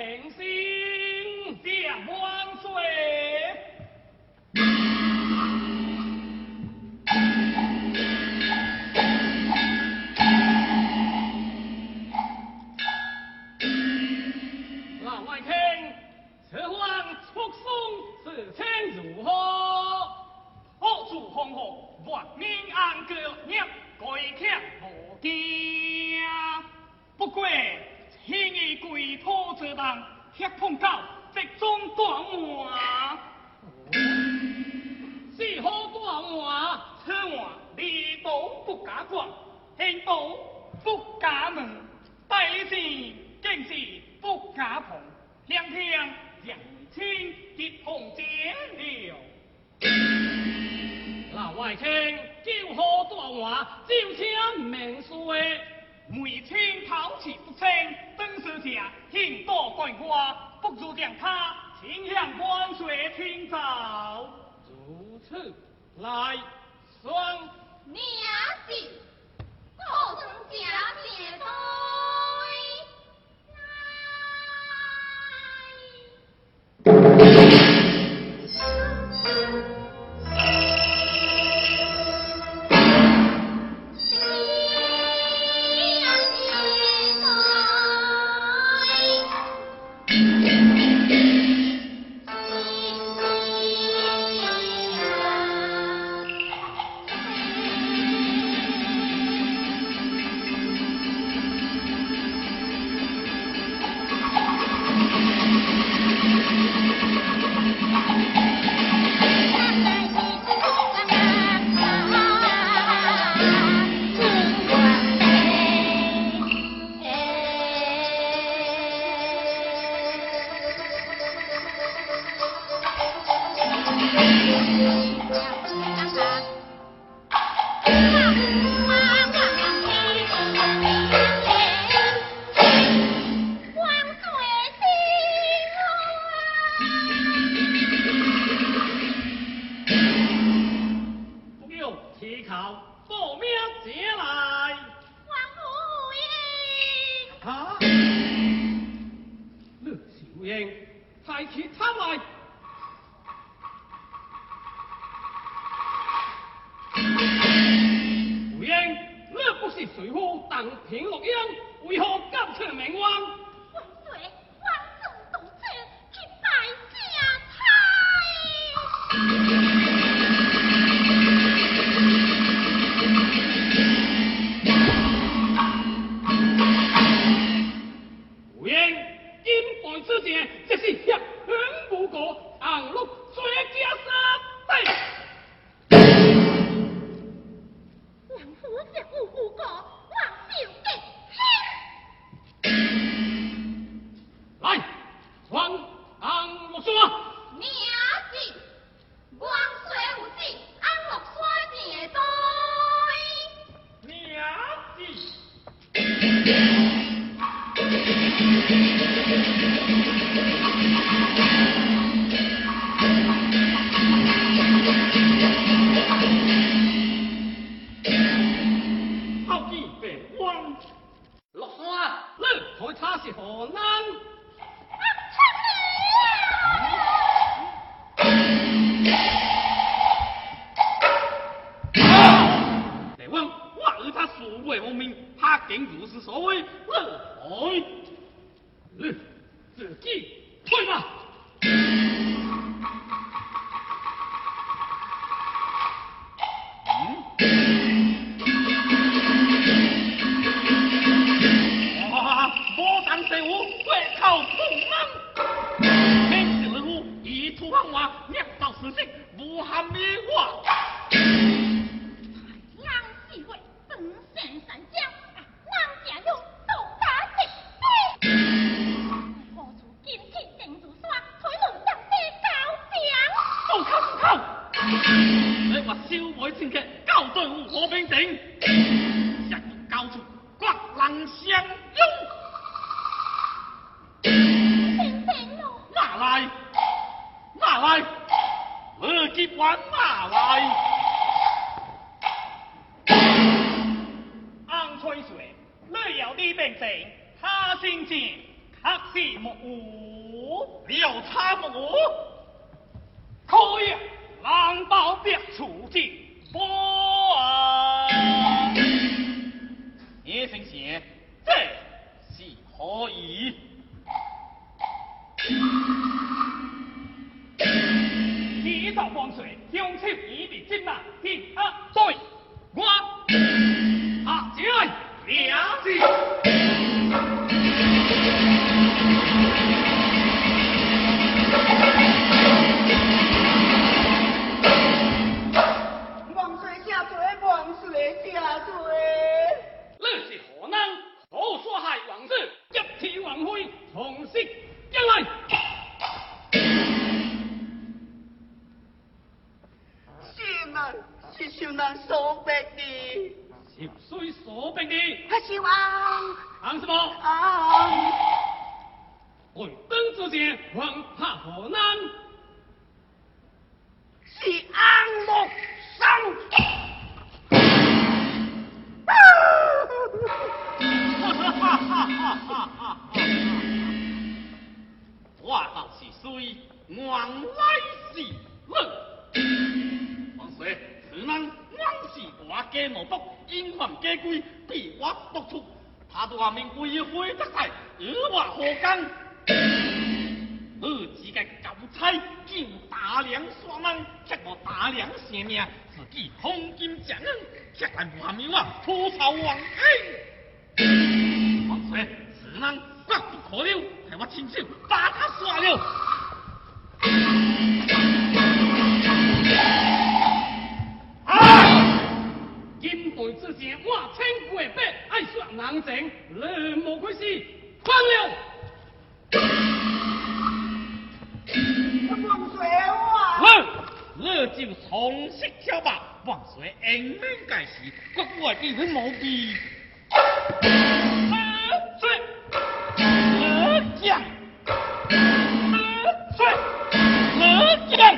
明星将万岁。老外卿，此番出送事情如何？何处红火，万民安居业，贵客无惊。不过，轻易跪托这帮，却碰到这种大案。是何大案？此案离道不加管，行道不加门，代理是竟是不加碰，两天让亲结碰结了。老外卿，救何大案，就请明说。每清讨其不清，本是下行多怪瓜，不如将他请向万岁请奏。如此，来，双娘子，我曾家姐对。 安吹水，你有你病情，他心情黑是木屋， 了差木屋， 可以狼包别处置不啊！ 叶先生，这是何意？ 一道光水，用手一笔金马，一二对，我下起来，了解。 王水下罪，王水下罪。 你是何人？何所害王子？一提王妃，从实将来。 是小人所逼的。 十岁所逼的， 是王。 行什么？回灯之前，王怕何难？ 是安禄生。 我倒是虽王来是王水，此人枉是我家奴仆，因犯家规，被我督促。他大名为非得赛，与我何干？自个交差，见大梁耍人，却无大梁性命，自己黄金正恩，却来还灭我吐槽王恩。王水，此人绝不可留，害我亲手把他杀了。 金杯之前，我千过百，爱说人情，你无亏是翻了。 王水啊！ 你就从实挑吧，王水应免介事，我叫你无必。 水， 将，水，将。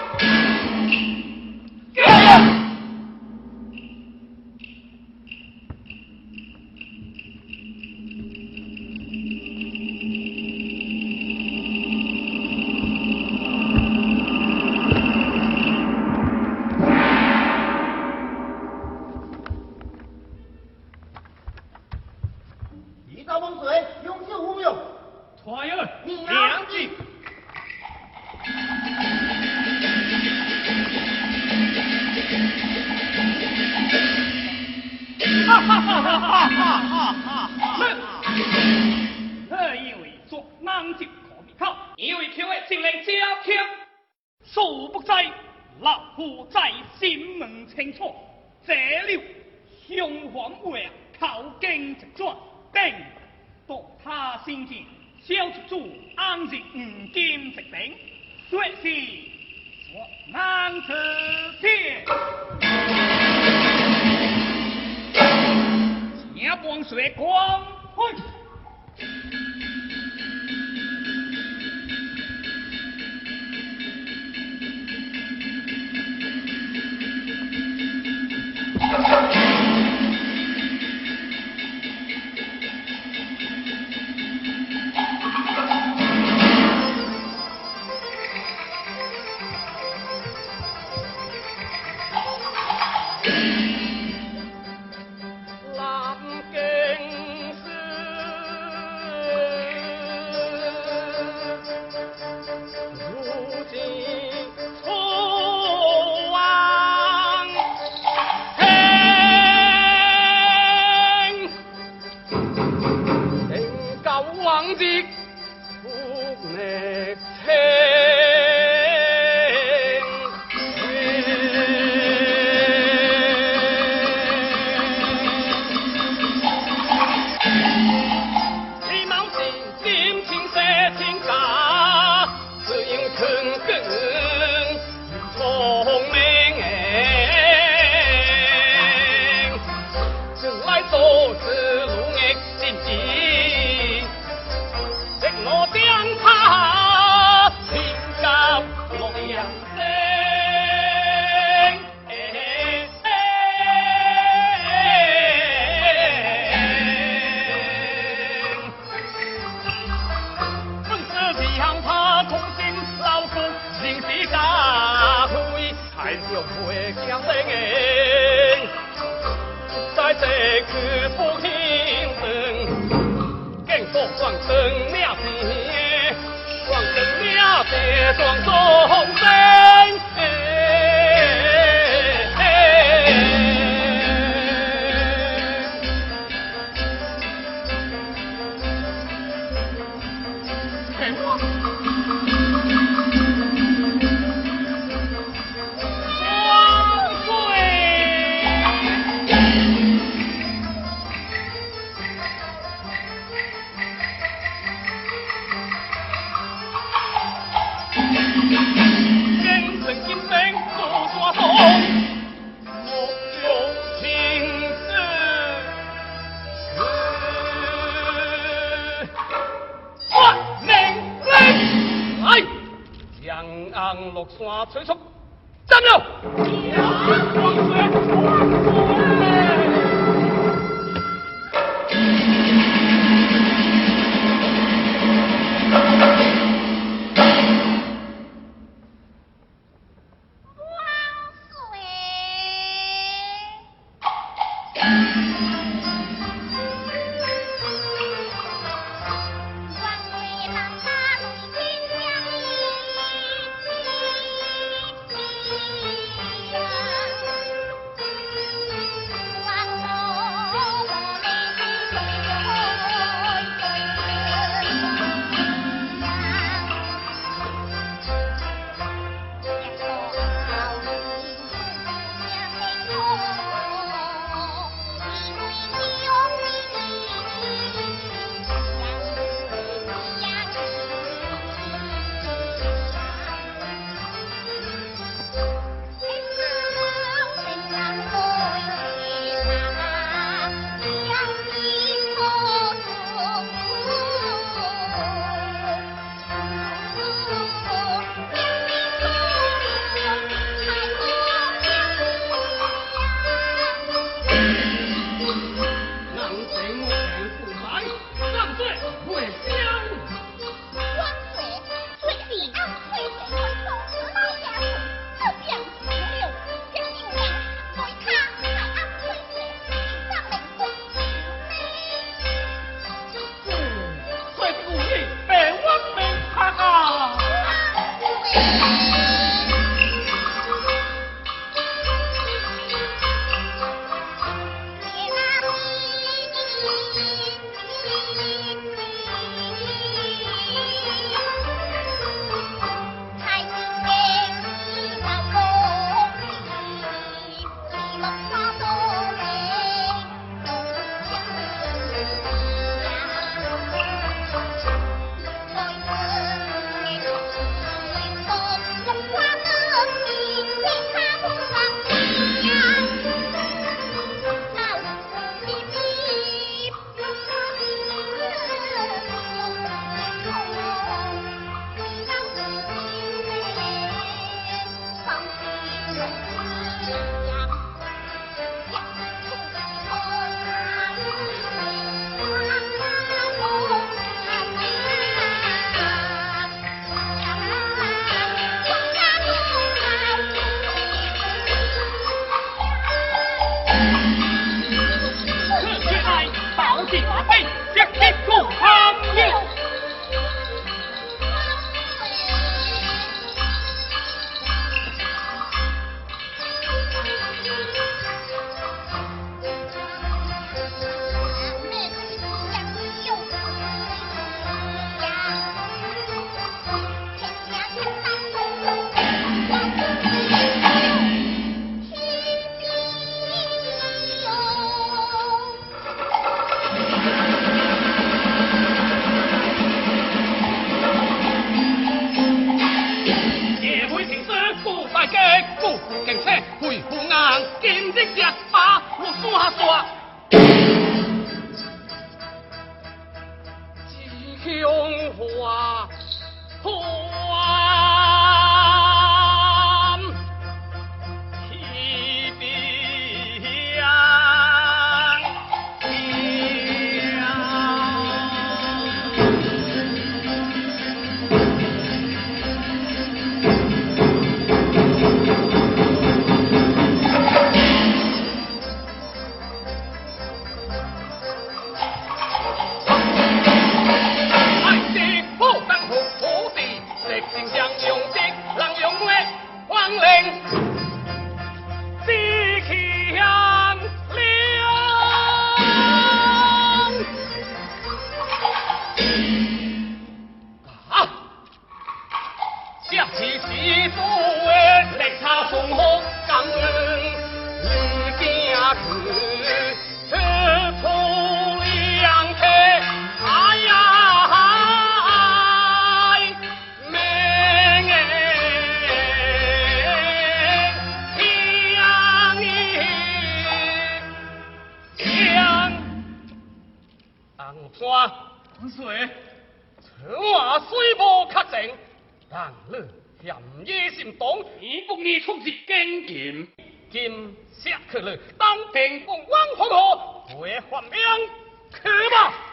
以为做人就可比考，以为求的情令加强，殊不知老夫在心门清楚，这了雄黄话口经直转，并夺他先见，小出主安日五金直顶，说是说难辞天。前半水光去。 用会强声在这去不听声，更多双生命线，双生命线双中生。落山催促，站了！王那虽无确证，但你嫌疑心重， 你不义出自经验， 今下去了，当平公王皇后为还命，去吧。